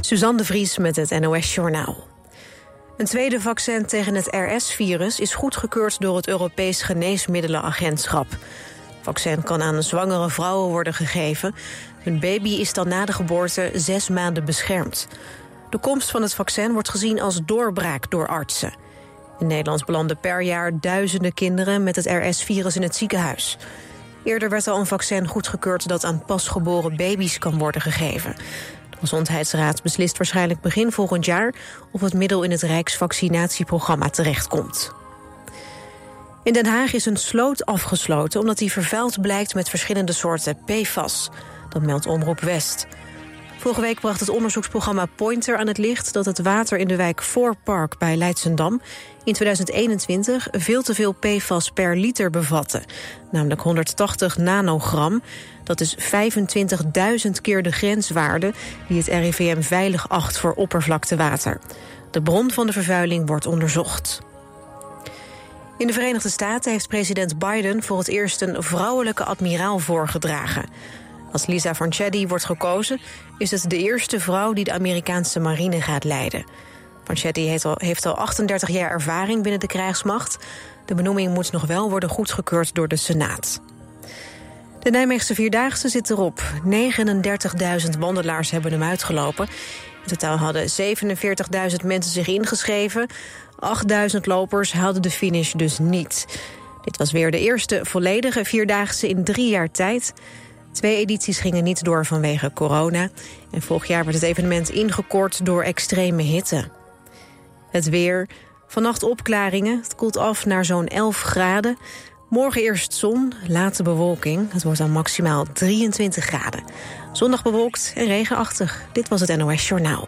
Suzanne de Vries met het NOS-journaal. Een tweede vaccin tegen het RS-virus is goedgekeurd door het Europees Geneesmiddelenagentschap. Het vaccin kan aan zwangere vrouwen worden gegeven. Hun baby is dan na de geboorte 6 maanden beschermd. De komst van het vaccin wordt gezien als doorbraak door artsen. In Nederland belanden per jaar duizenden kinderen met het RS-virus in het ziekenhuis. Eerder werd al een vaccin goedgekeurd dat aan pasgeboren baby's kan worden gegeven. De Gezondheidsraad beslist waarschijnlijk begin volgend jaar of het middel in het Rijksvaccinatieprogramma terechtkomt. In Den Haag is een sloot afgesloten omdat die vervuild blijkt met verschillende soorten PFAS. Dat meldt Omroep West. Vorige week bracht het onderzoeksprogramma Pointer aan het licht dat het water in de wijk Voorpark bij Leidschendam in 2021 veel te veel PFAS per liter bevatte. Namelijk 180 nanogram. Dat is 25.000 keer de grenswaarde die het RIVM veilig acht voor oppervlaktewater. De bron van de vervuiling wordt onderzocht. In de Verenigde Staten heeft president Biden voor het eerst een vrouwelijke admiraal voorgedragen. Als Lisa Vanchetti wordt gekozen, is het de eerste vrouw die de Amerikaanse marine gaat leiden. Vanchetti heeft al 38 jaar ervaring binnen de krijgsmacht. De benoeming moet nog wel worden goedgekeurd door de Senaat. De Nijmeegse Vierdaagse zit erop. 39.000 wandelaars hebben hem uitgelopen. In totaal hadden 47.000 mensen zich ingeschreven. 8.000 lopers haalden de finish dus niet. Dit was weer de eerste volledige Vierdaagse in 3 jaar tijd. 2 edities gingen niet door vanwege corona. En vorig jaar werd het evenement ingekort door extreme hitte. Het weer. Vannacht opklaringen. Het koelt af naar zo'n 11 graden. Morgen eerst zon, late bewolking. Het wordt dan maximaal 23 graden. Zondag bewolkt en regenachtig. Dit was het NOS Journaal.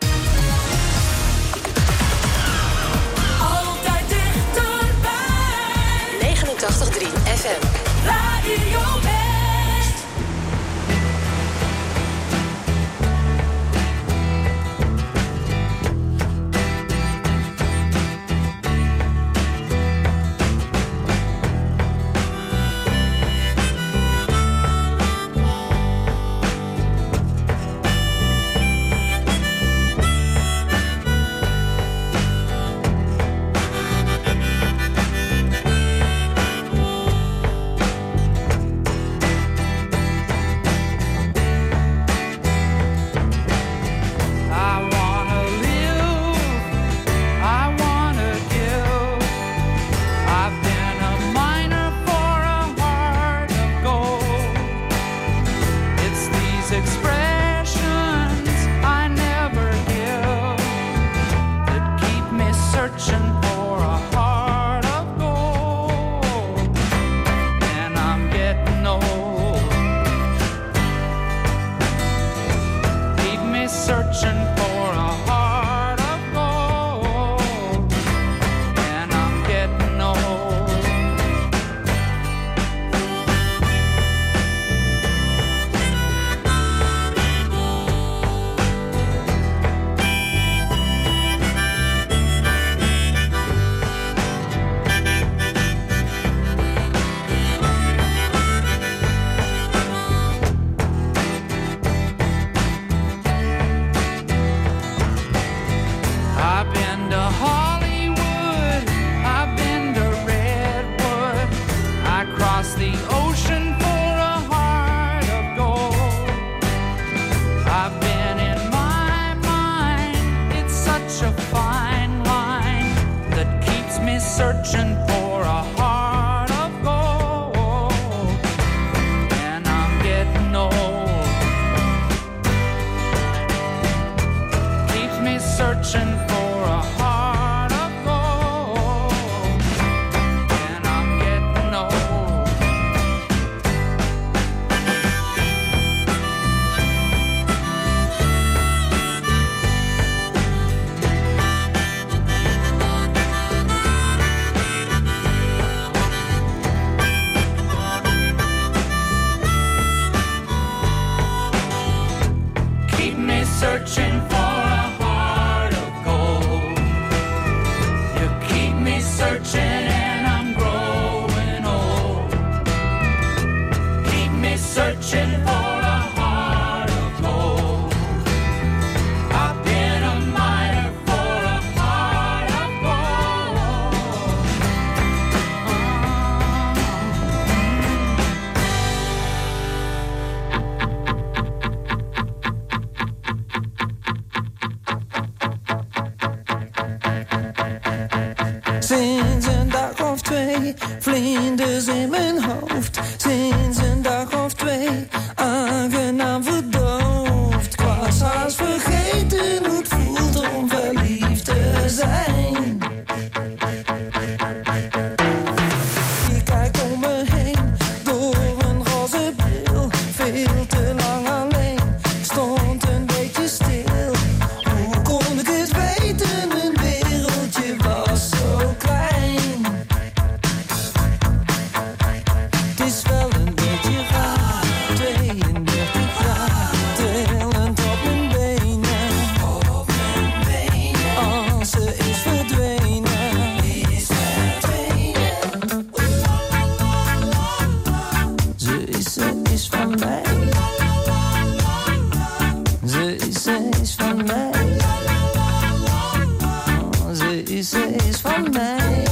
Altijd dichterbij. 89.3 FM. Radio West. Searching for a heart of gold. Sinds een dag of twee, vlinders in mijn hoofd. Sinds een dag of twee, aangenaam verdoofd. Ik was haast vergeten hoe het voelt om verliefd te zijn. Ik kijk om me heen, door een roze bril. Veel te lang alleen, stond een beetje stil. Hoe kon ik het weten, mijn wereldje was zo klein. Het is wel een beetje raar, 32 jaar, trillend op mijn benen. Als ze is verdwenen. Ze is van mij. Ze is van mij. Ze is van mij.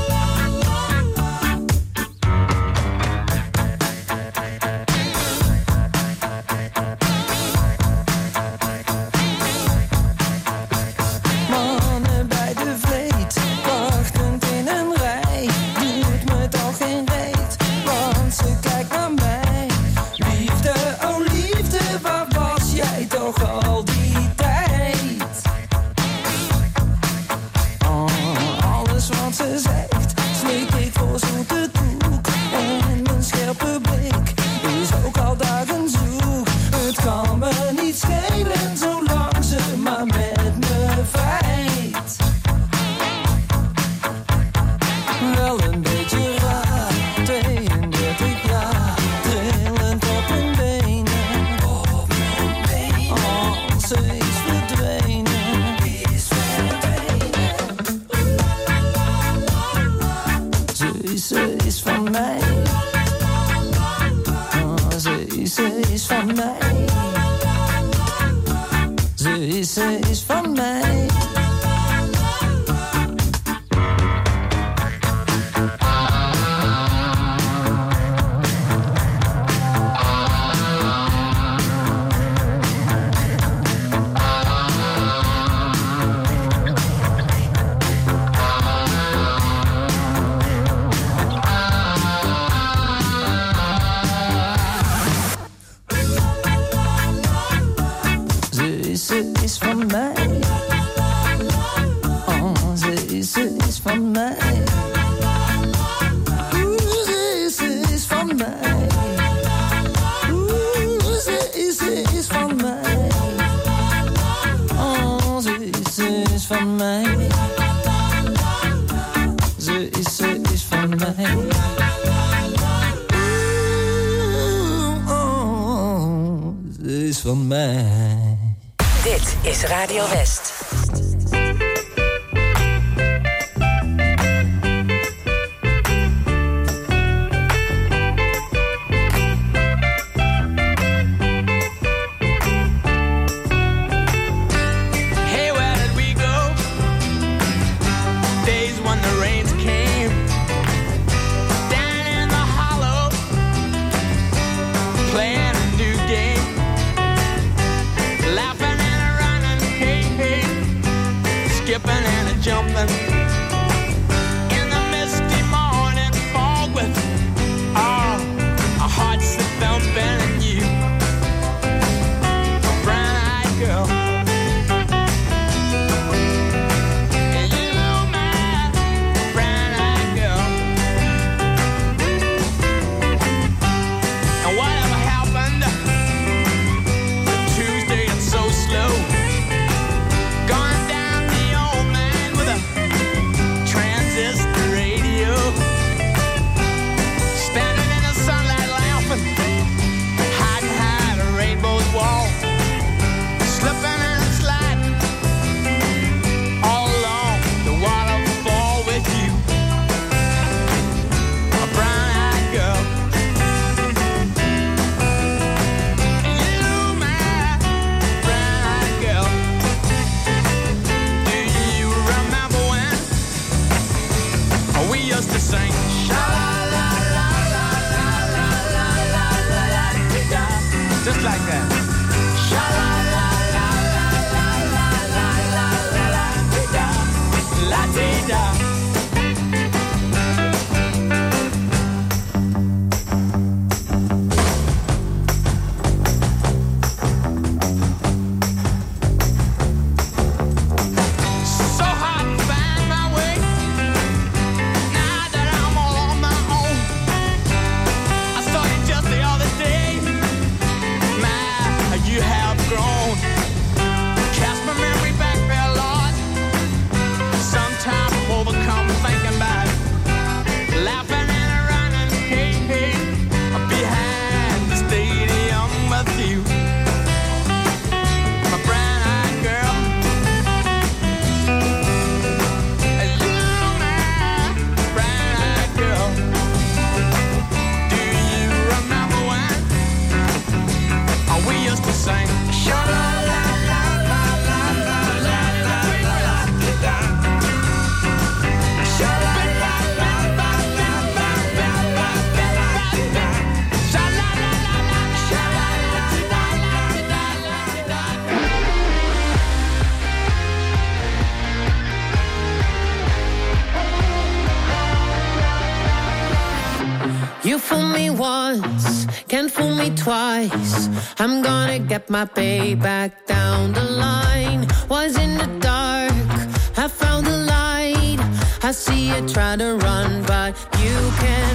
Mannen bij de vleet, wachtend in een rij. Doet me toch geen reet, want ze kijkt naar mij. Liefde, oh liefde, waar was jij toch al die tijd? Alles wat ze zegt, slik ik voor zoete koek. En mijn scherpe blik is ook al dagen zoek. Het kan me niet schelen, zolang ze maar met me vrijt. Wel een beetje raar, 32 jaar, trillend op mijn benen. Als ze is verdwenen. Ze is van mij. Ze is van mij. Ze is van mij. Ze is van mij. Ze is van mij. Ze is van mij. Ze is van mij. Ze is van mij. Ze is van mij. Ze is van mij. Dit is Radio West. Hey, where did we go? Days when the rains came. Down in the hollow, playing a new game. Laughing skipping and a jumping in the misty morning fog with our hearts that thumping and you, a brown-eyed girl, and you, my brown-eyed girl. And whatever happened to Tuesday and so slow, gone down the old man with a once, can't fool me twice. I'm gonna get my payback down the line. Was in the dark, I found the light. I see you try to run, but you can't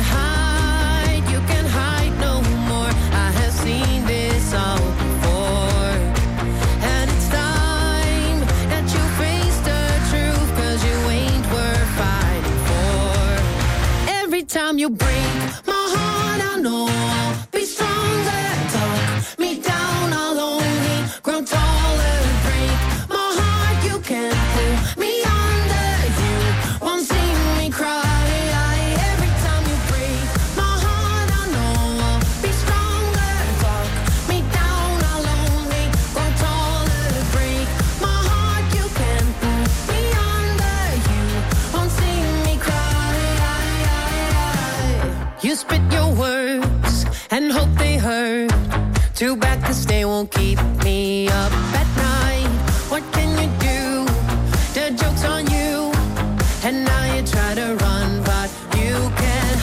hide no more. I have seen this all before. And it's time that you face the truth, 'cause you ain't worth fighting for. Every time you break my heart, I know I'll be stronger. Talk me down, I'll only grow taller. Break my heart, you can't pull me under. You won't see me cry. Every time you break my heart, I know I'll be stronger. Talk me down, I'll only grow taller. Break my heart, you can't pull me under. You won't see me cry. You spit your words and hope they hurt. Too bad 'cause they won't keep me up at night. What can you do? The joke's on you. And now you try to run, but you can't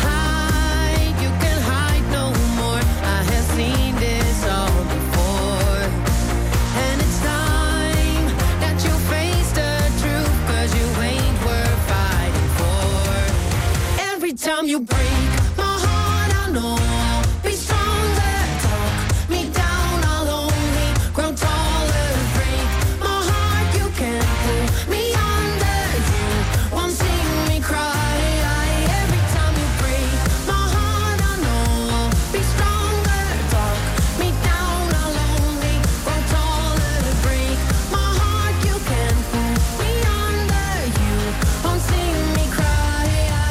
hide no more. I have seen this all before. And it's time that you face the truth, 'cause you ain't worth fighting for. Every time you break my heart, I know I'll be stronger. Talk me down, I'll only grow taller. Break my heart, you can't pull me under. You won't see me cry. Every time you break my heart, I know I'll be stronger. Talk me down, I'll only grow taller. Break my heart, you can't pull me under. You won't see me cry.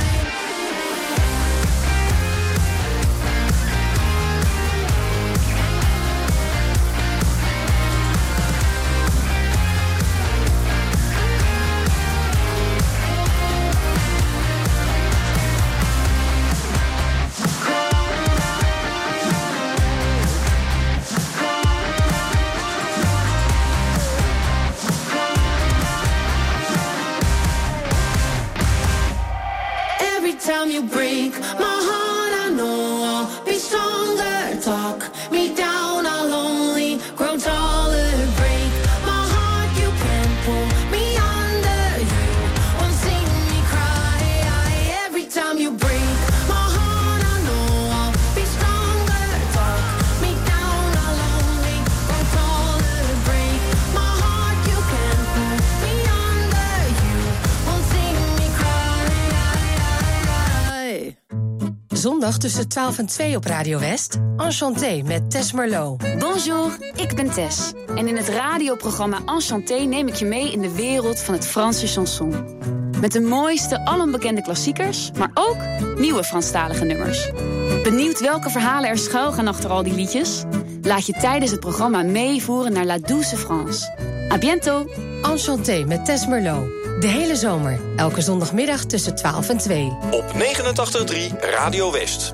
Every time you break my heart, I know I'll be stronger. Talk me down, I'll only grow taller. Break my heart, you can't pull me under. You won't see me cry. Every time you break my heart, I know I'll be stronger. Talk me down, I'll only grow taller. Break my heart, you can't pull me under. You won't see me cry. Zondag tussen 12 en 2 op Radio West. Enchanté met Tess Merlot. Bonjour, ik ben Tess. En in het radioprogramma Enchanté neem ik je mee in de wereld van het Franse chanson. Met de mooiste, alombekende klassiekers, maar ook nieuwe Franstalige nummers. Benieuwd welke verhalen er schuilgaan achter al die liedjes? Laat je tijdens het programma meevoeren naar La Douce France. À bientôt! Enchanté met Tess Merlot. De hele zomer, elke zondagmiddag tussen 12 en 2. Op 89.3 Radio West.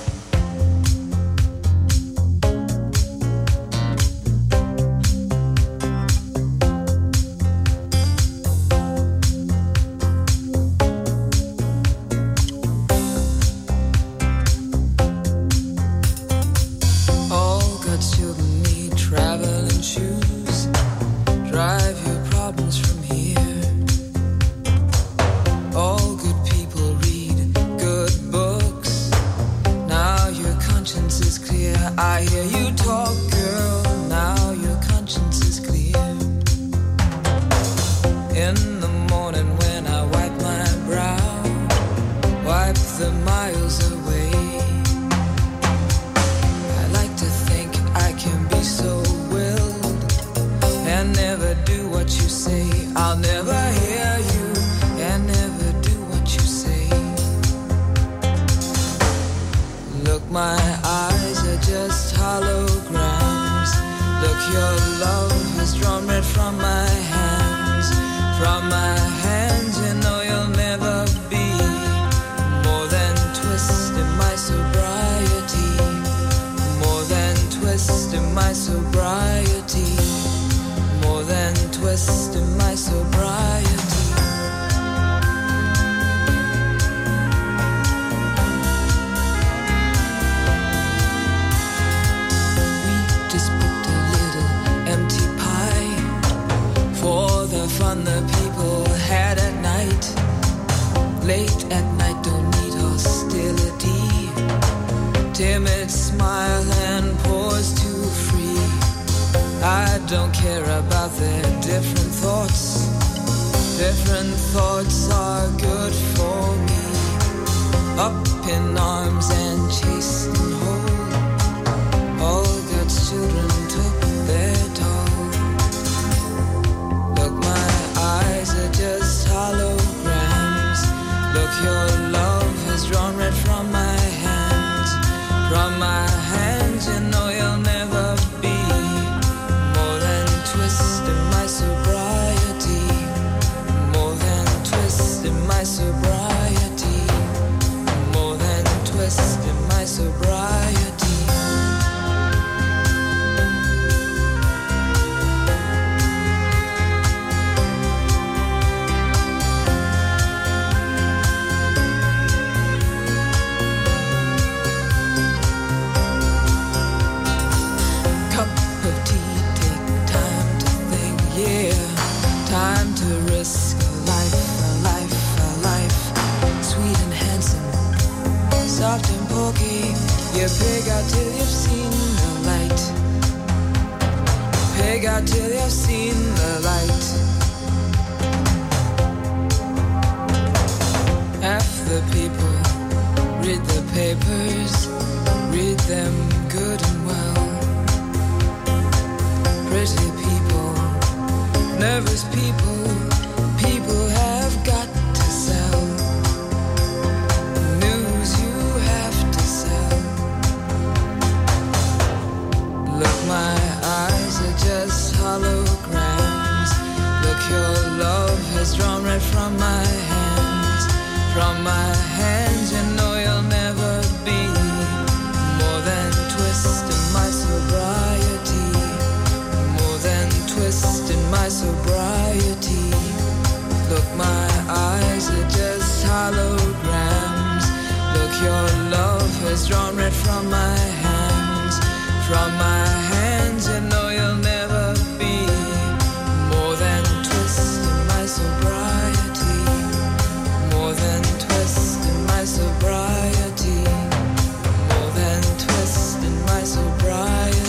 All good children need traveling shoes. Drive your problems from here. All good people read good books. Now your conscience is clear. I hear you talk, girl. Now your conscience is clear. In the morning when I wipe my brow, wipe the miles away. I like to think I can be so willed and never do what you say. I'll never hear you and never do what you say. Look, my eyes are just holograms. Look, your love has drawn red from my hands. From my hands, you know you'll never be more than twist in my sobriety. More than twist in my sobriety. More than twist in my sobriety. the fun the people had at night. Late at night, don't need hostility. Timid smile and pause too free. I don't care about their different thoughts. Different thoughts are good for me. Up in arms and chased and whole. All God's children took their toll. Look, my eyes are just holograms. Look, your love has drawn red from my hands. From my hands, you know you'll never be more than twist in my sobriety. More than twist in my sobriety. More than twist in my sobriety. Time to risk a life, a life, a life. Sweet and handsome, soft and pokey. You pig out till you've seen the light. Pig out till you've seen the light. Half the people read the papers, read them good and well. Pretty people, nervous people, people have got to sell. News you have to sell. Look, my eyes are just holograms. Look, your love has drawn red from my hands. From my hands, you know you'll never be more than twist in my sobriety. More than twist in my sobriety. Look, my eyes are just holograms. Look, your love has drawn red from my hands. From my hands, you know you'll never be more than twist in my sobriety. More than twist in my sobriety. More than twist in my sobriety.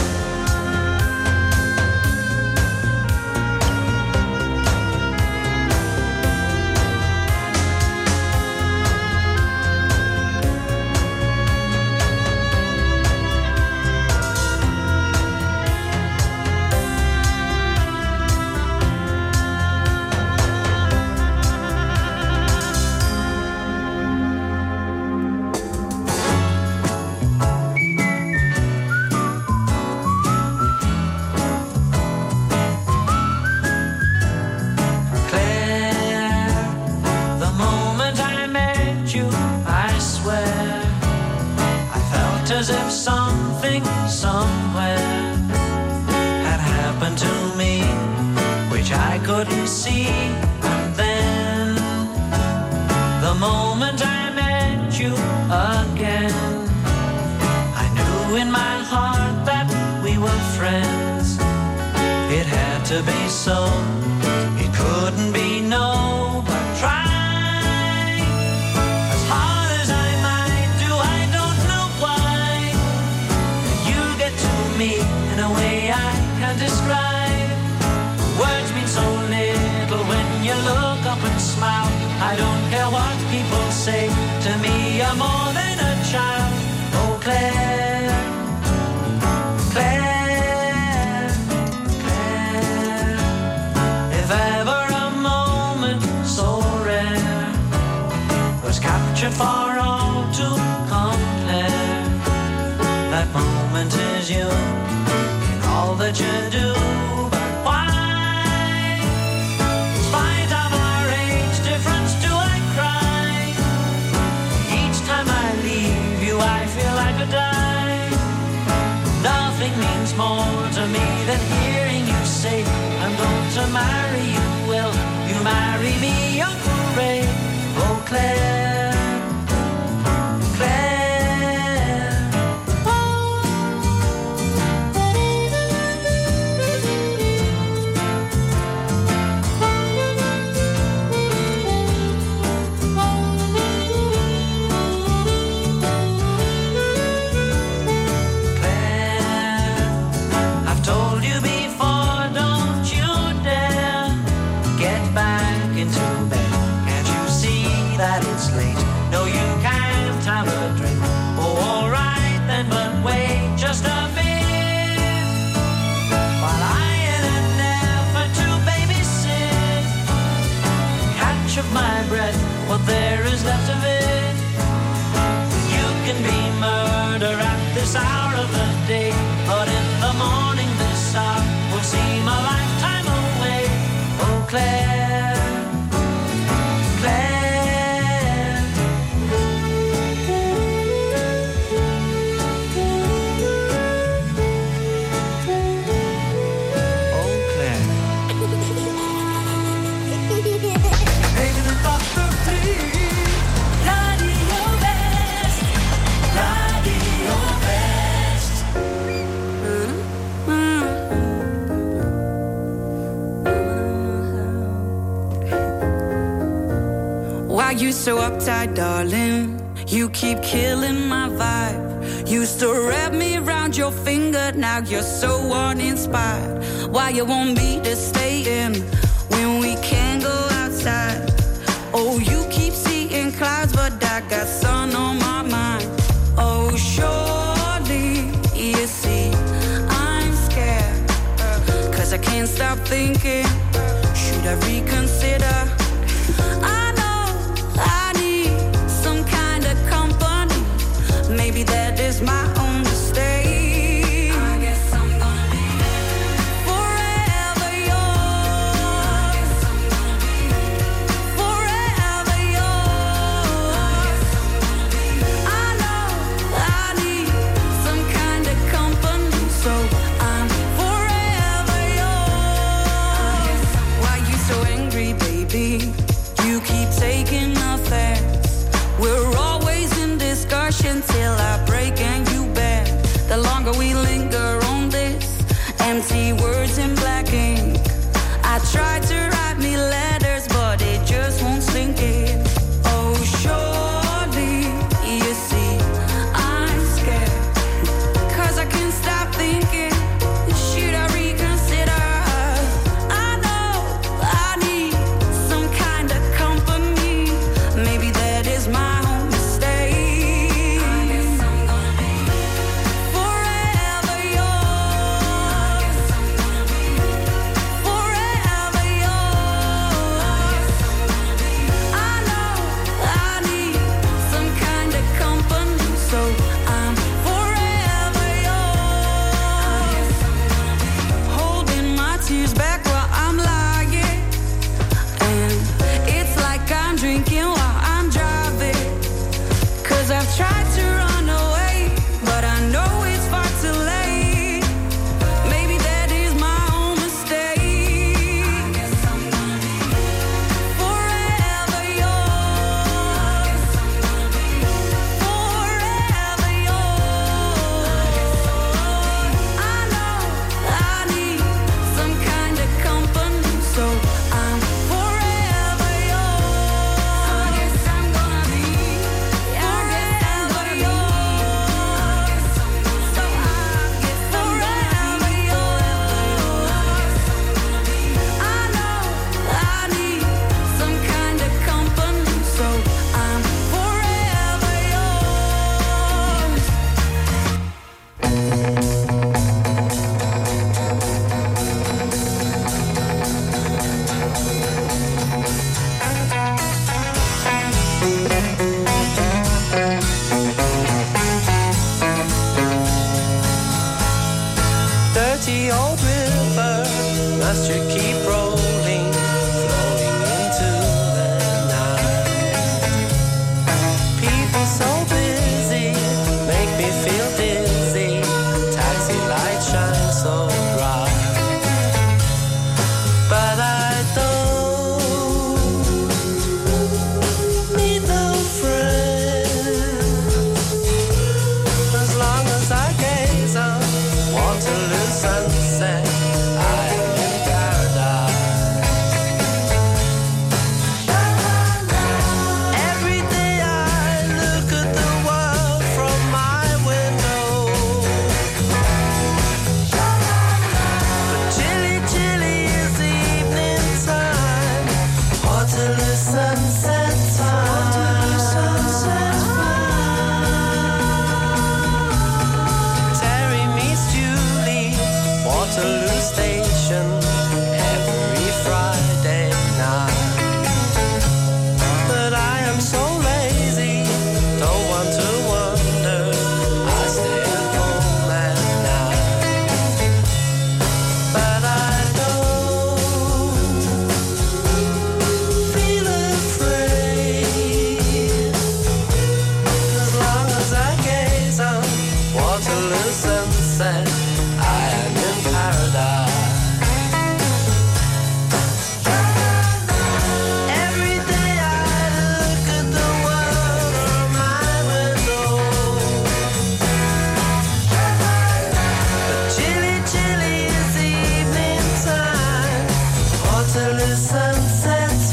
As if something somewhere had happened to me, which I couldn't see. And then, the moment I met you again, I knew in my heart that we were friends. It had to be so, it couldn't be no, but try. In a way I can't describe. Words mean so little when you look up and smile. I don't care what people say to me, you're more than a child. Oh, Claire, Claire, Claire. If ever a moment so rare was captured for all to compare, that moment is you. All that you do, but why? In spite of our age difference, do I cry? Each time I leave you, I feel I could die. Nothing means more to me than hearing you say, I'm going to marry you. Will you marry me, Uncle Ray? Oh, Claire, Claire. is left of it. You can be murder at this hour of the day, but in the morning this hour will seem a lifetime away. Oh, Claire, Claire. Oh, Claire. Even een nacht of 3. Radio West, Radio West. Why you so uptight, darling? You keep killing my vibe. Used to wrap me around your finger, now you're so uninspired. Why you want me to stay in when we can't go outside? Oh, you keep seeing clouds, but I got sun on my mind. Oh, surely you see I'm scared, 'cause I can't stop thinking, should I reconsider? I know I need some kind of company. Maybe that is my own mistake. I guess I'm gonna be forever yours. Forever yours. I know I need some kind of company, so I'm forever yours. Why you so angry, baby? You keep taking offense. We're always in discussion till I break and you bend. The longer we linger on this, empty words in black ink. I try to write me letters, but it just won't sink in. Oh, surely you see I'm scared, 'cause I can't stop thinking, should I reconsider? I know I need some kind of company. Maybe that is my own mistake. I guess I'm gonna be forever yours. sunset's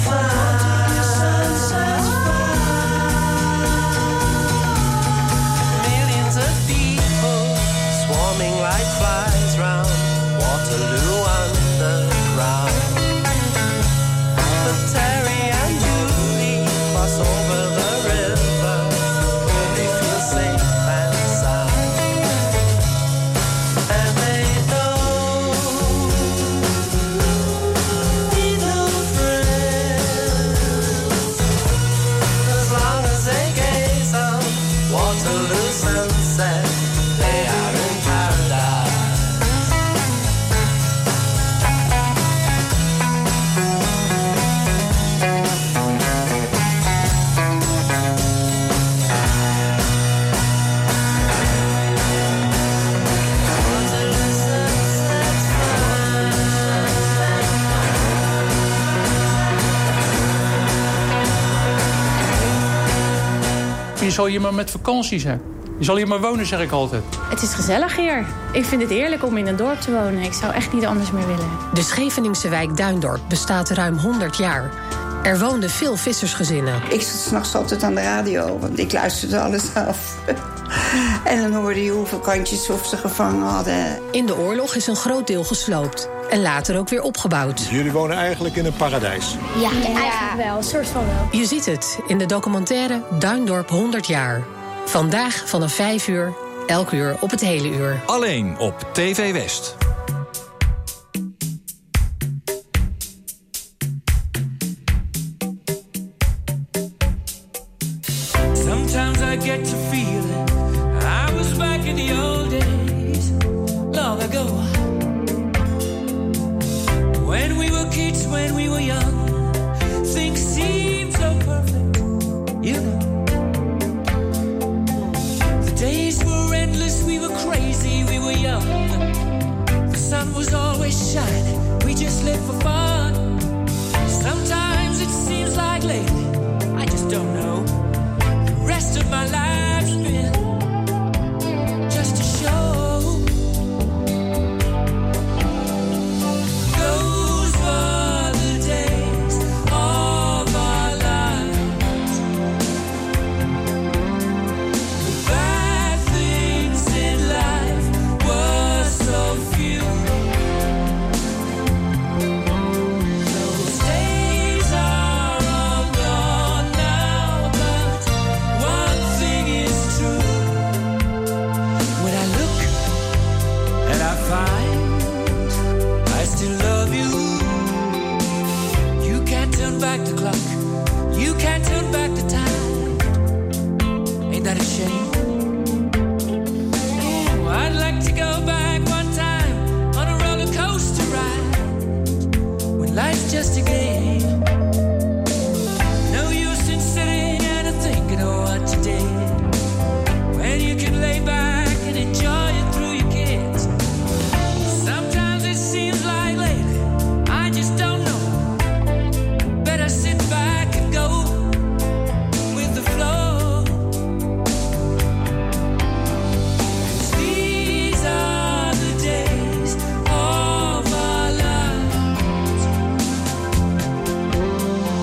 millions of people swarming like flies round Waterloo Underground. But Terry and Julie cross over the river where they feel safe and sound. And they don't need no friends as long as they gaze on Waterloo sunset. They are in paradise. Je zal hier maar met vakantie zijn. Je zal hier maar wonen, zeg ik altijd. Het is gezellig hier. Ik vind het heerlijk om in een dorp te wonen. Ik zou echt niet anders meer willen. De Scheveningse wijk Duindorp bestaat ruim 100 jaar. Er woonden veel vissersgezinnen. Ik zat 's nachts altijd aan de radio, want ik luisterde alles af. En dan hoorde je hoeveel kantjes of ze gevangen hadden. In de oorlog is een groot deel gesloopt. En later ook weer opgebouwd. Jullie wonen eigenlijk in een paradijs. Ja, eigenlijk wel. Een soort van wel. Je ziet het in de documentaire Duindorp 100 jaar. Vandaag vanaf 5 uur, elk uur op het hele uur. Alleen op TV West. Sometimes I get to feeling I was back in the old days, long ago. When we were kids, when we were young, things seemed so perfect, you know. The days were endless, we were crazy, we were young. The sun was always shining, we just lived for fun. Sometimes it seems like lately, I just don't know. The rest of my life's been just a show. Those were the days of our lives. The bad things in life were so few. Those days are all gone now, but one thing is true. When I look and I find I still love you. You can't turn back the clock. You can't turn back the time. Ain't that a shame? Ooh, I'd like to go back one time on a roller coaster ride when life's just a game. No use in sitting and thinking of what you did when you can lay back and enjoy it through your kids. Sometimes it seems like lately, I just don't know. Better sit back and go with the flow. 'Cause these are the days of our lives.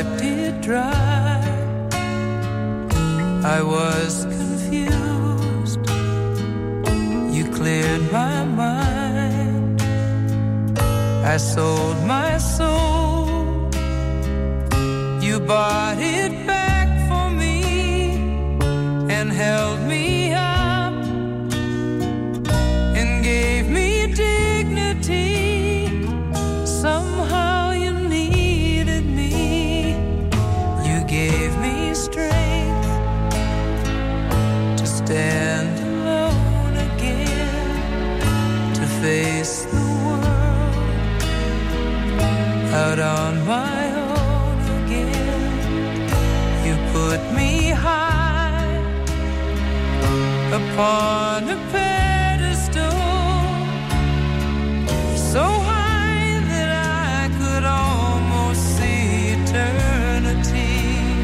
wiped it dry. I was confused. You cleared my mind. I sold my soul. You bought it back for me and held me up and gave me dignity. Somehow you needed me. You gave me strength to stand alone again, to face the world out on my own again. You put me high upon a pedestal, so high that I could almost see eternity.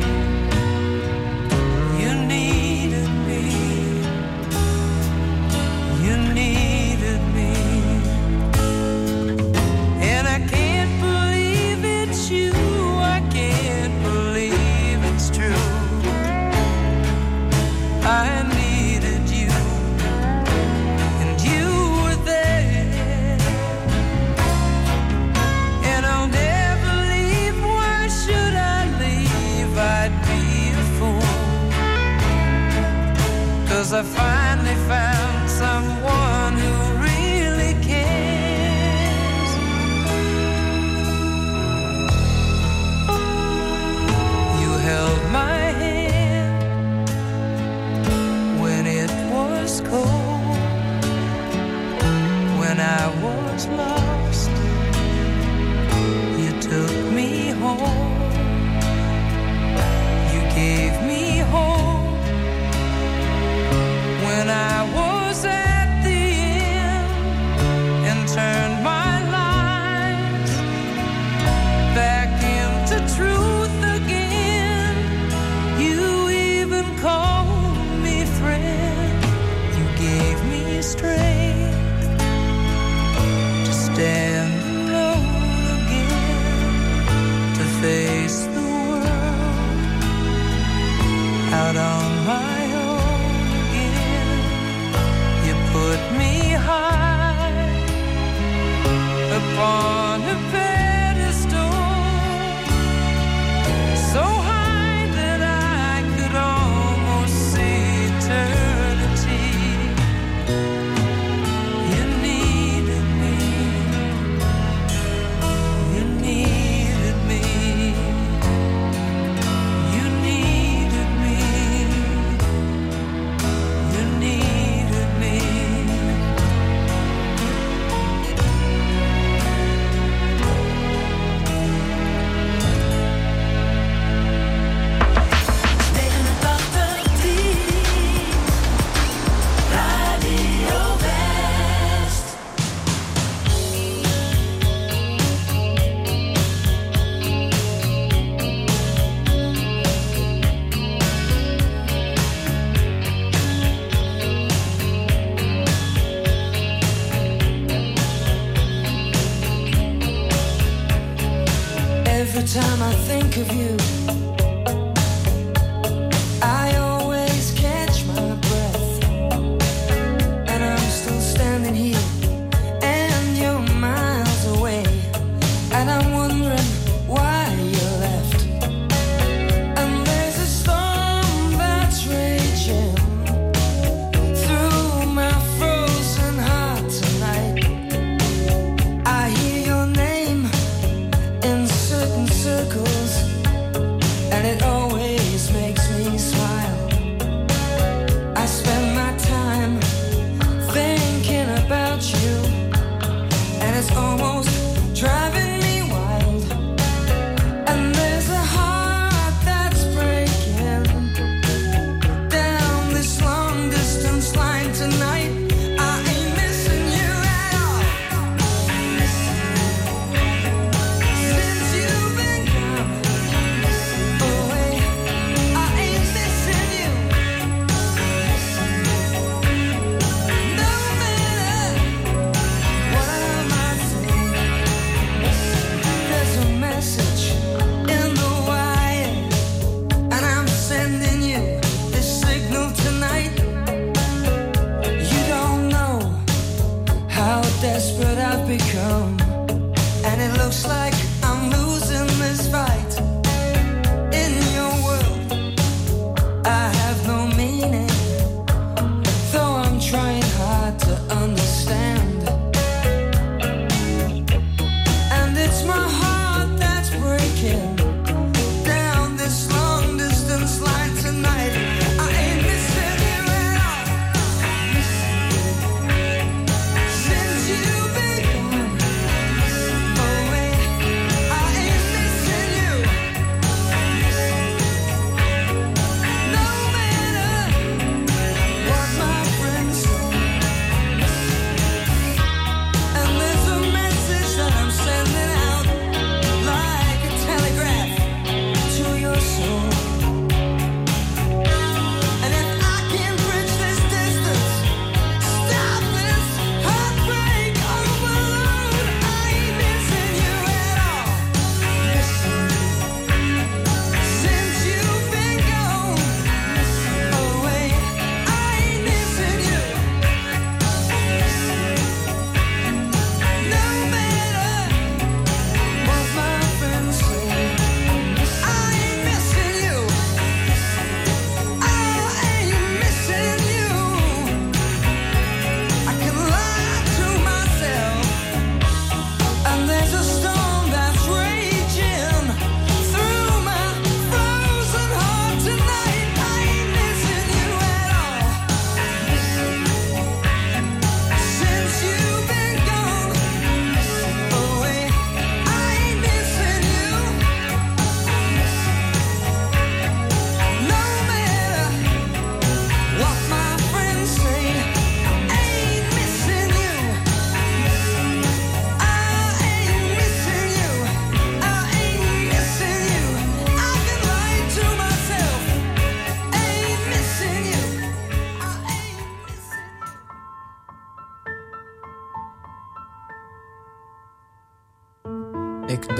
You needed me. You needed me. And I can't believe it's you. I can't believe it's true. I needed you, and you were there. And I'll never leave. Why should I leave? I'd be a fool. 'Cause I finally found someone who really cares. You held my hand when it was cold, when I was lost. You took me home. You gave me hope when I was at the end, and turned my life back into truth again. You even called me friend. You gave me strength to stand alone again, to face the world out on my own again. You put me high upon a pedestal, so high that I could almost see eternity. You needed me. You needed me. You needed me. You needed me. Radio West. Every time I think of you, I always catch my breath. And I'm still standing here, and you're miles away. And I'm wondering why you left. And there's a storm that's raging through my frozen heart tonight. I hear your name in certain circles, and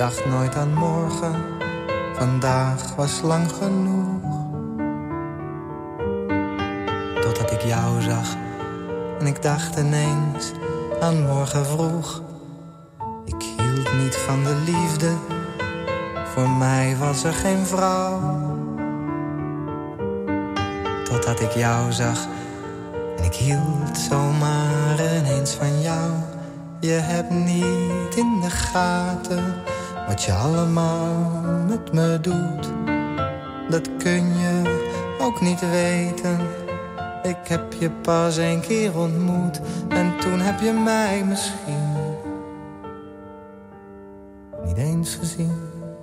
dacht nooit aan morgen, vandaag was lang genoeg. Totdat ik jou zag en ik dacht ineens aan morgen vroeg. Ik hield niet van de liefde, voor mij was er geen vrouw. Totdat ik jou zag en ik hield zomaar ineens van jou. Je hebt niet in de gaten wat je allemaal met me doet. Dat kun je ook niet weten. Ik heb je pas 1 keer ontmoet en toen heb je mij misschien niet eens gezien.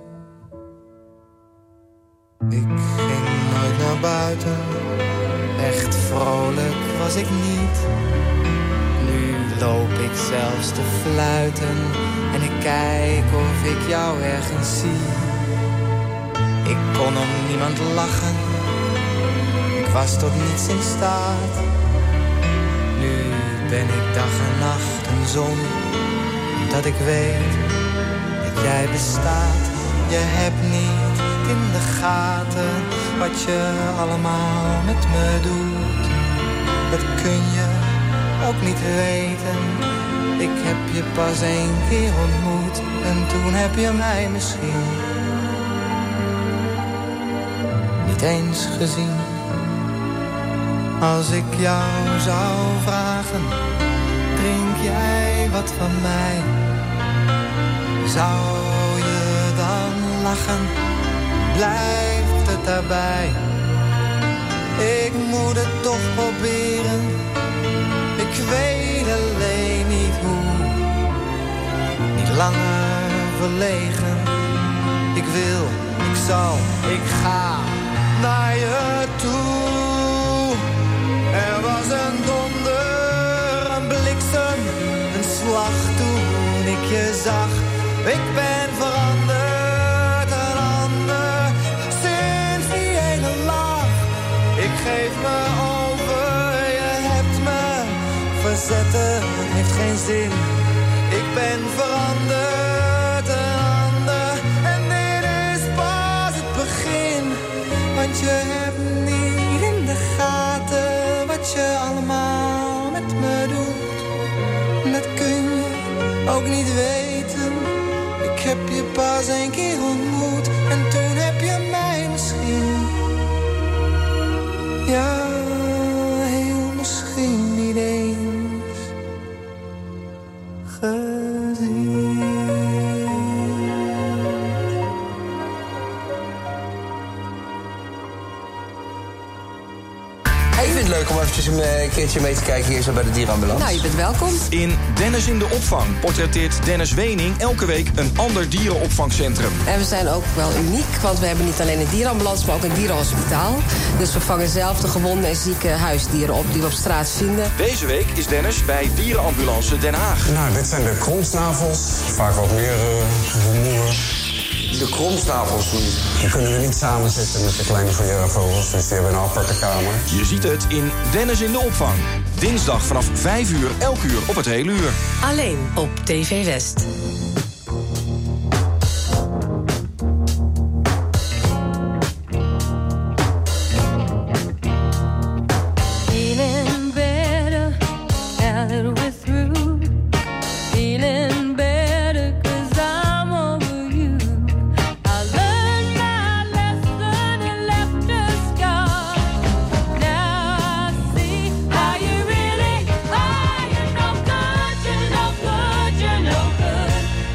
Ik ging nooit naar buiten, echt vrolijk was ik niet. Nu loop ik zelfs te fluiten en ik kijk of ik jou ergens zie. Ik kon om niemand lachen, ik was tot niets in staat. Nu ben ik dag en nacht een zon, dat ik weet dat jij bestaat. Je hebt niet in de gaten wat je allemaal met me doet. Dat kun je ook niet weten. Ik heb je pas 1 keer ontmoet en toen heb je mij misschien niet eens gezien. Als ik jou zou vragen, drink jij wat van mij? Zou je dan lachen? Blijft het daarbij? Ik moet het toch proberen. Ik weet alleen niet hoe. Niet langer verlegen. Ik wil, ik zal, ik ga naar je toe. Er was een donder, een bliksem, een slag toen ik je zag. Ik ben veranderd, een ander, sinds die ene lach. Ik geef me over, je hebt me verzetten, heeft geen zin. Ik ben veranderd, een ander, en dit is pas het begin. Want je hebt niet in de gaten wat je allemaal met me doet. Dat kun je ook niet weten. Ik heb je pas 1 keer ontmoet en toen heb je mij misschien, ja, heel misschien niet eens gezien. Ik vind het leuk om eventjes een keertje mee te kijken hier zo bij de dierenambulance. Nou, je bent welkom. In Dennis in de opvang portretteert Dennis Wening elke week een ander dierenopvangcentrum. En we zijn ook wel uniek, want we hebben niet alleen een dierenambulance, maar ook een dierenhospitaal. Dus we vangen zelf de gewonde en zieke huisdieren op die we op straat vinden. Deze week is Dennis bij Dierenambulance Den Haag. Nou, dit zijn de kromsnavels. Vaak wat meer rumoer. De kromsnavels die kunnen we niet samenzetten met de kleine vogels, dus die hebben een aparte kamer. Je ziet het in Dennis in de opvang. Dinsdag vanaf 5 uur, elk uur op het hele uur. Alleen op TV West. Feeling better now that we're through. Feeling better 'cause I'm over you. I learned my lesson and left a scar. Now I see how you really are. You're no good, you're no good, you're no good.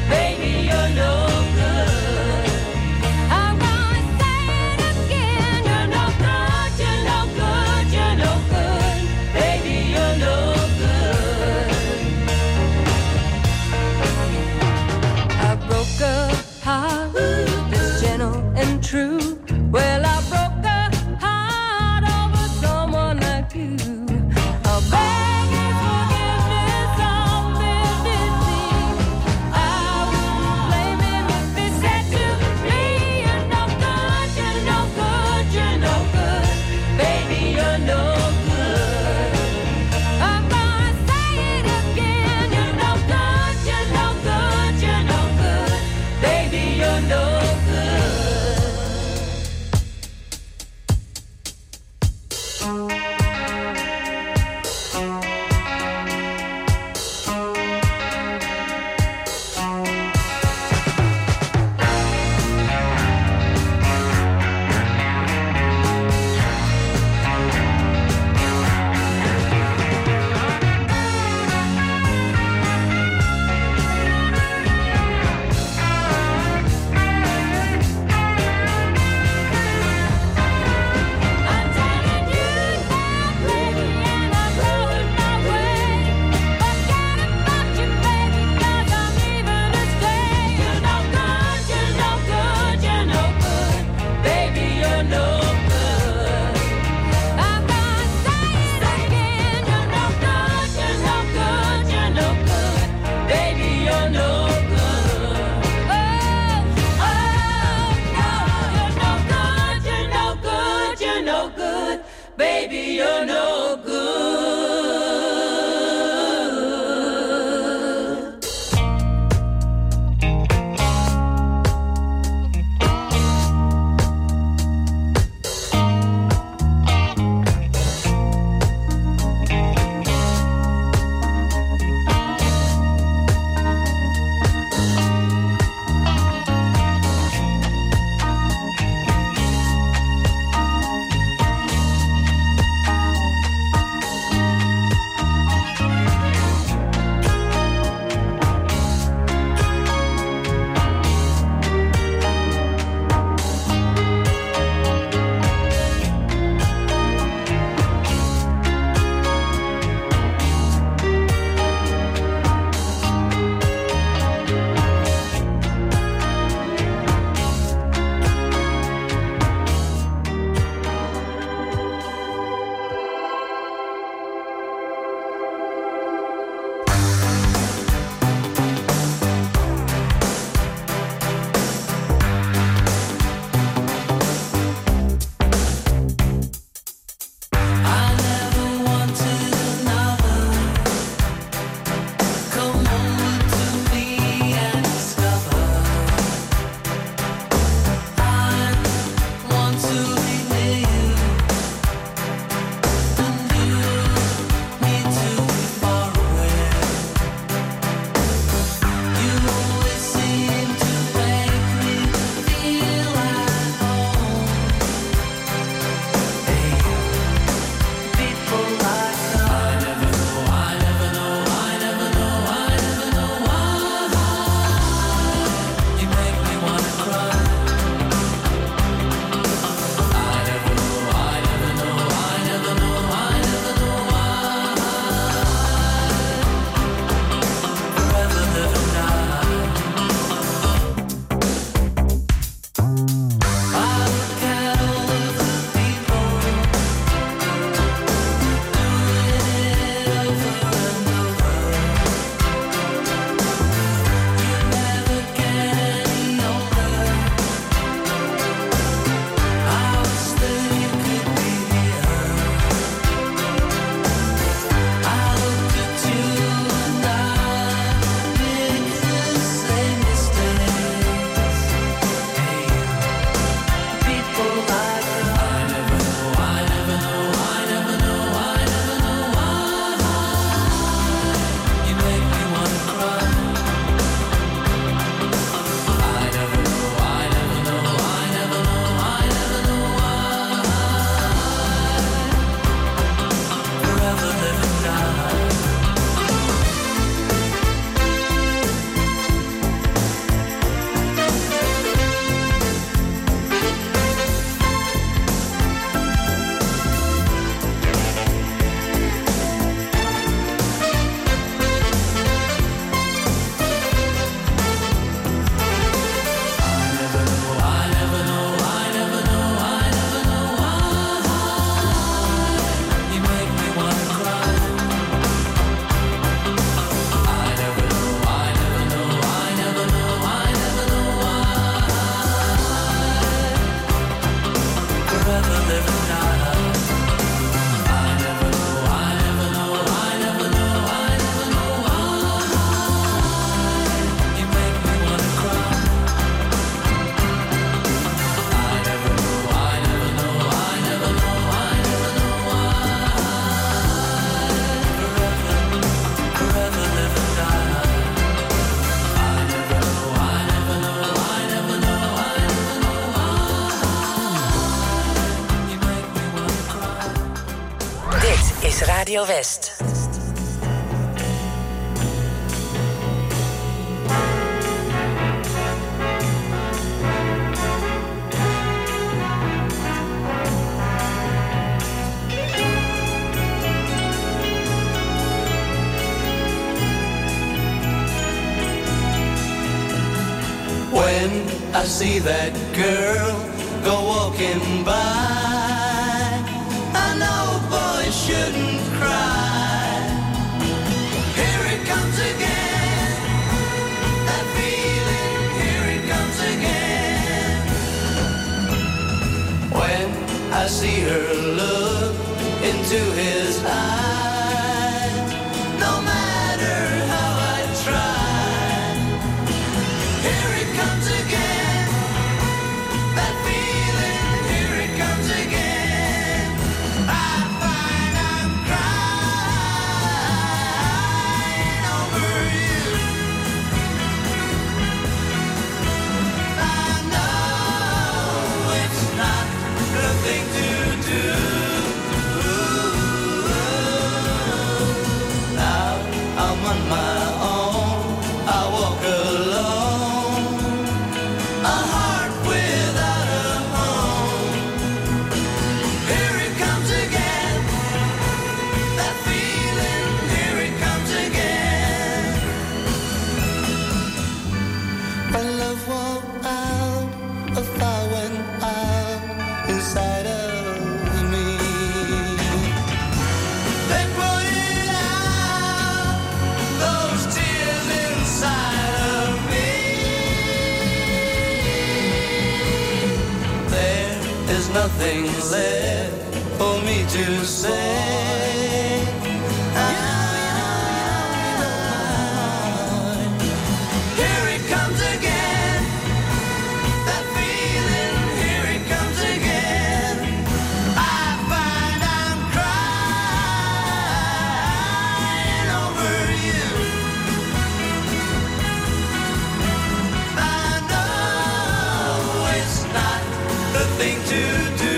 is Radio West. When I see that girl go walking by, I know boys shouldn't cry. Here it comes again, that feeling, here it comes again. When I see her look into his eyes, no matter how I try, here it comes again, that feeling, here it comes again. I find I'm crying over you. I know it's not the thing to do. Now I'm on my own, I walk alone, a heart without a home. Here it comes again, that feeling, here it comes again. My love won't out, a fire went out inside of me. They put it out, those tears inside of me. There is nothing left for me to say. Here it comes again, that feeling, here it comes again. I find I'm crying over you. I know it's not the thing to do.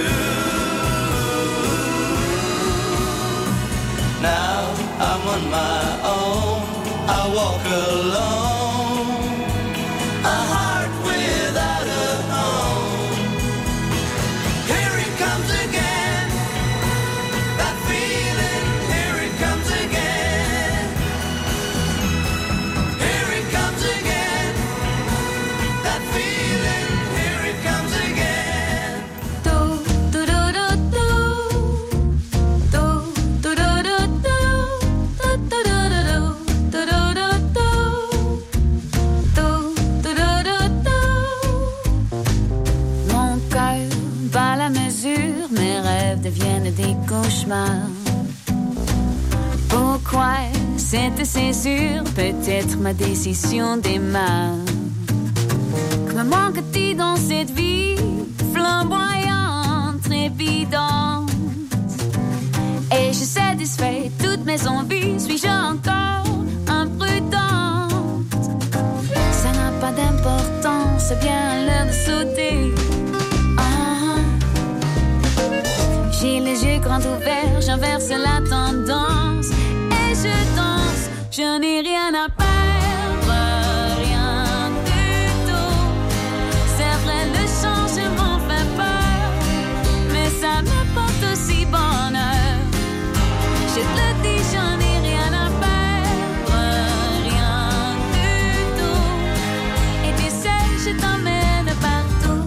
Now I'm on my own, I walk alone, a heart without a home. Here it comes again, that feeling, here it comes again. Here it comes again, that feeling, here it comes again. Mon cœur bat la mesure, mes rêves deviennent des cauchemars. Pourquoi cette césure? Peut-être ma décision démarre. Que me manque-t-il dans cette vie flamboyante, trépidante? Et-je satisfait toutes mes envies? Suis-je encore imprudente? Ça n'a pas d'importance, c'est bien l'heure de sauter. Ah. J'ai les yeux grands ouverts, j'inverse la tendance. Et je danse, je n'ai rien à perdre, rien du tout. C'est vrai, le changement fait peur, mais ça me porte aussi bonheur. Je te le dis, j'en ai rien à perdre, rien du tout. Et tu sais, je t'emmène partout.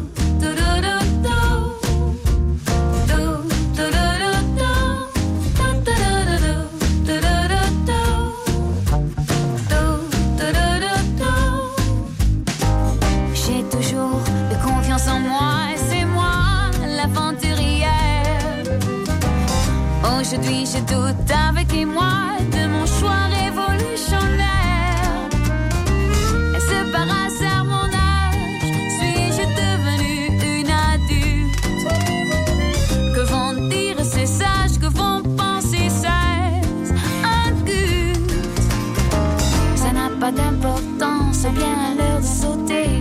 J'ai toujours de confiance en moi, et c'est moi l'aventurière. Aujourd'hui je doute avec moi de mon choix révolutionnaire. Est-ce par hasard mon âge? Suis-je devenue une adulte? Que vont dire ces sages? Que vont penser ces adultes? Ça n'a pas d'importance, c'est bien l'heure de sauter.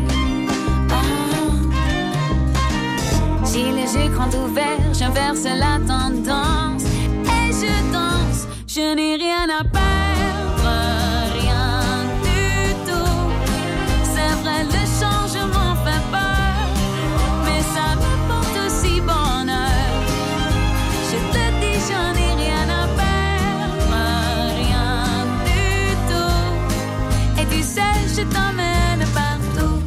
J'ai les yeux grands ouverts, j'inverse la tendance. Et je danse, Je n'ai rien à perdre, rien du tout. C'est vrai, le changement fait peur, mais ça me porte aussi bonheur. Je te dis, je n'ai rien à perdre, rien du tout. Et tu sais, je t'emmène partout.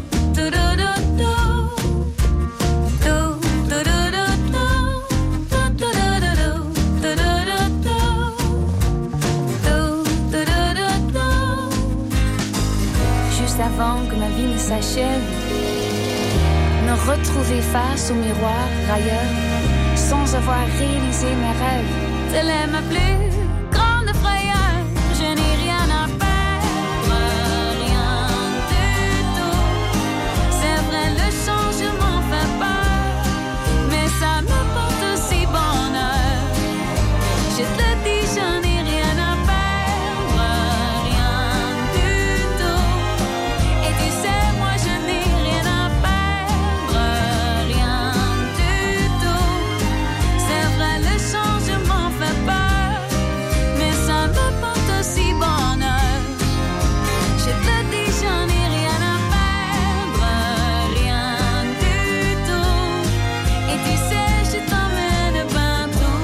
Juste avant que ma vie ne s'achève, me retrouver face au miroir ailleurs, sans avoir réalisé mes rêves. Telle est ma plus grande frayeur. Je n'ai rien à perdre, rien du tout. C'est vrai, le changement fait peur, mais ça me porte aussi bonheur. Je te dis, je n'ai rien à perdre, rien du tout. Et tu sais, moi je n'ai rien à perdre, rien du tout. C'est vrai, le changement fait peur, mais ça me porte aussi bonheur. Je te dis, j'en ai rien à perdre, rien du tout. Et tu sais, je t'emmène partout.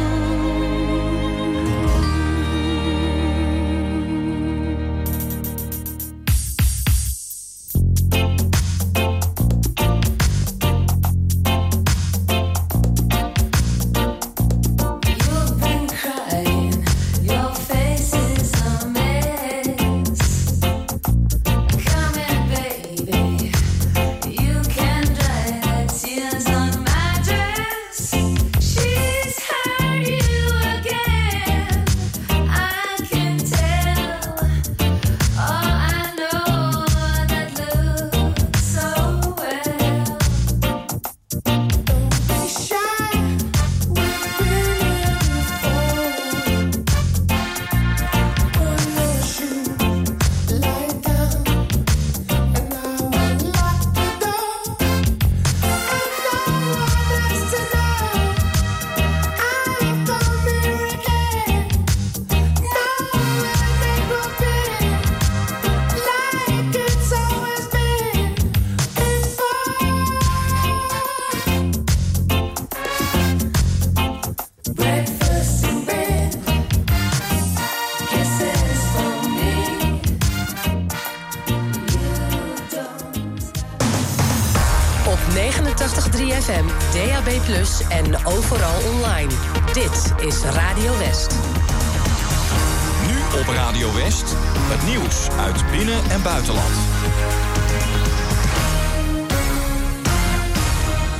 You've been crying, your face is a mess. Come in, baby, you can dry the tears on my dress. She's hurt you again, I can tell. Oh, I know that looks so well. Don't be shy, we've been here before. Put your shoe, lie down, and I will lock the door. And no one is to know I'll come here again. Now it will be like it's always been before. Breakfast in bed, kisses for me. Op 89.3 FM, DAB+, en overal online. Dit is Radio West. Nu op Radio West, het nieuws uit binnen- en buitenland.